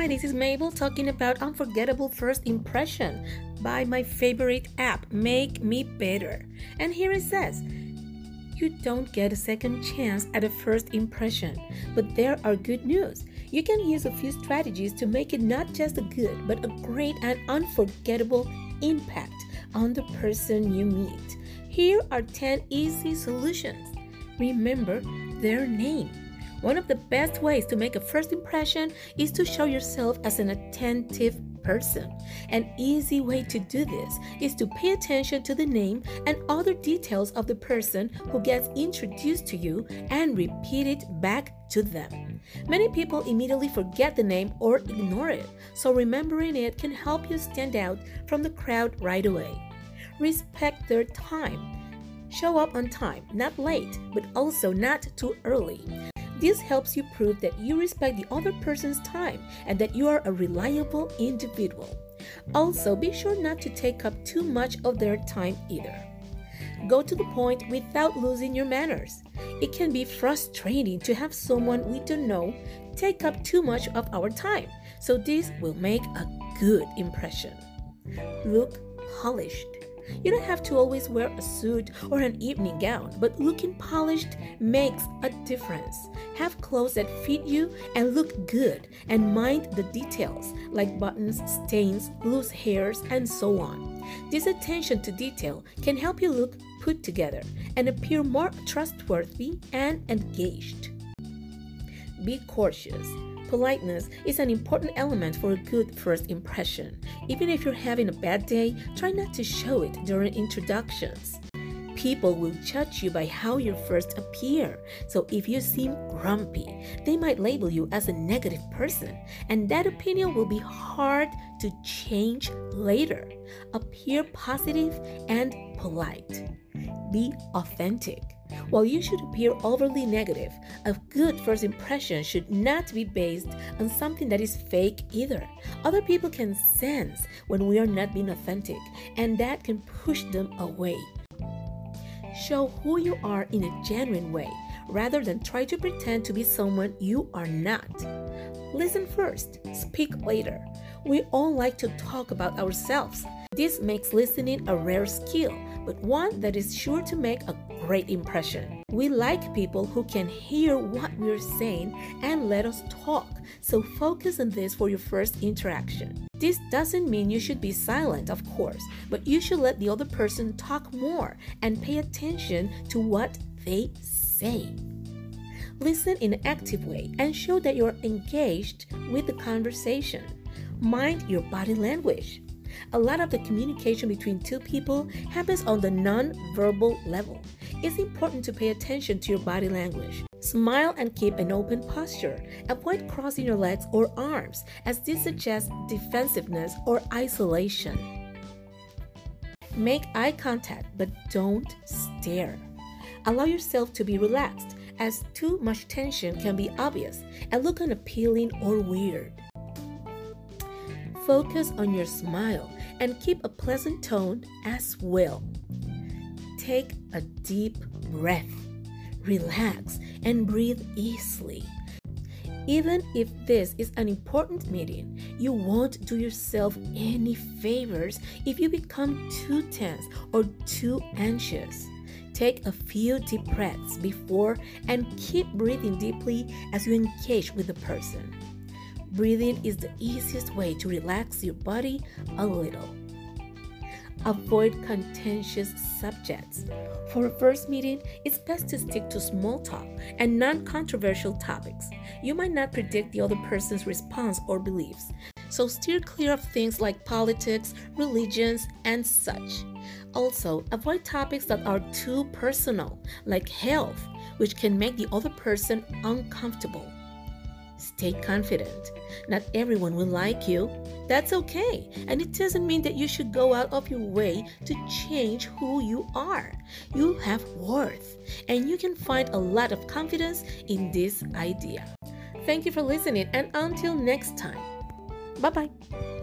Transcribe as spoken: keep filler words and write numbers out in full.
Hi, this is Mabel talking about Unforgettable First Impression by my favorite app, Make Me Better. And here it says, you don't get a second chance at a first impression, but there are good news. You can use a few strategies to make it not just a good, but a great and unforgettable impact on the person you meet. Here are ten easy solutions. Remember their name. One of the best ways to make a first impression is to show yourself as an attentive person. An easy way to do this is to pay attention to the name and other details of the person who gets introduced to you and repeat it back to them. Many people immediately forget the name or ignore it, so remembering it can help you stand out from the crowd right away. Respect their time. Show up on time, not late, but also not too early. This helps you prove that you respect the other person's time and that you are a reliable individual. Also, be sure not to take up too much of their time either. Go to the point without losing your manners. It can be frustrating to have someone we don't know take up too much of our time, so this will make a good impression. Look polished. You don't have to always wear a suit or an evening gown, but looking polished makes a difference. Have clothes that fit you and look good, and mind the details like buttons, stains, loose hairs, and so on. This attention to detail can help you look put together and appear more trustworthy and engaged. Be cautious. Politeness is an important element for a good first impression. Even if you're having a bad day, try not to show it during introductions. People will judge you by how you first appear, so if you seem grumpy, they might label you as a negative person, and that opinion will be hard to change later. Appear positive and polite. Be authentic. While you should appear overly negative, a good first impression should not be based on something that is fake either. Other people can sense when we are not being authentic, and that can push them away. Show who you are in a genuine way, rather than try to pretend to be someone you are not. Listen first, speak later. We all like to talk about ourselves. This makes listening a rare skill, but one that is sure to make a great impression. We like people who can hear what we're saying and let us talk, so focus on this for your first interaction. This doesn't mean you should be silent, of course, but you should let the other person talk more and pay attention to what they say. Listen in an active way and show that you're engaged with the conversation. Mind your body language. A lot of the communication between two people happens on the non-verbal level. It's important to pay attention to your body language. Smile and keep an open posture. Avoid crossing your legs or arms, as this suggests defensiveness or isolation. Make eye contact, but don't stare. Allow yourself to be relaxed, as too much tension can be obvious and look unappealing or weird. Focus on your smile and keep a pleasant tone as well. Take a deep breath, relax, and breathe easily. Even if this is an important meeting, you won't do yourself any favors if you become too tense or too anxious. Take a few deep breaths before and keep breathing deeply as you engage with the person. Breathing is the easiest way to relax your body a little. Avoid contentious subjects. For a first meeting, it's best to stick to small talk and non-controversial topics. You might not predict the other person's response or beliefs, so steer clear of things like politics, religions, and such. Also, avoid topics that are too personal, like health, which can make the other person uncomfortable. Stay confident. Not everyone will like you. That's okay, and it doesn't mean that you should go out of your way to change who you are. You have worth, and you can find a lot of confidence in this idea. Thank you for listening, and until next time. Bye-bye.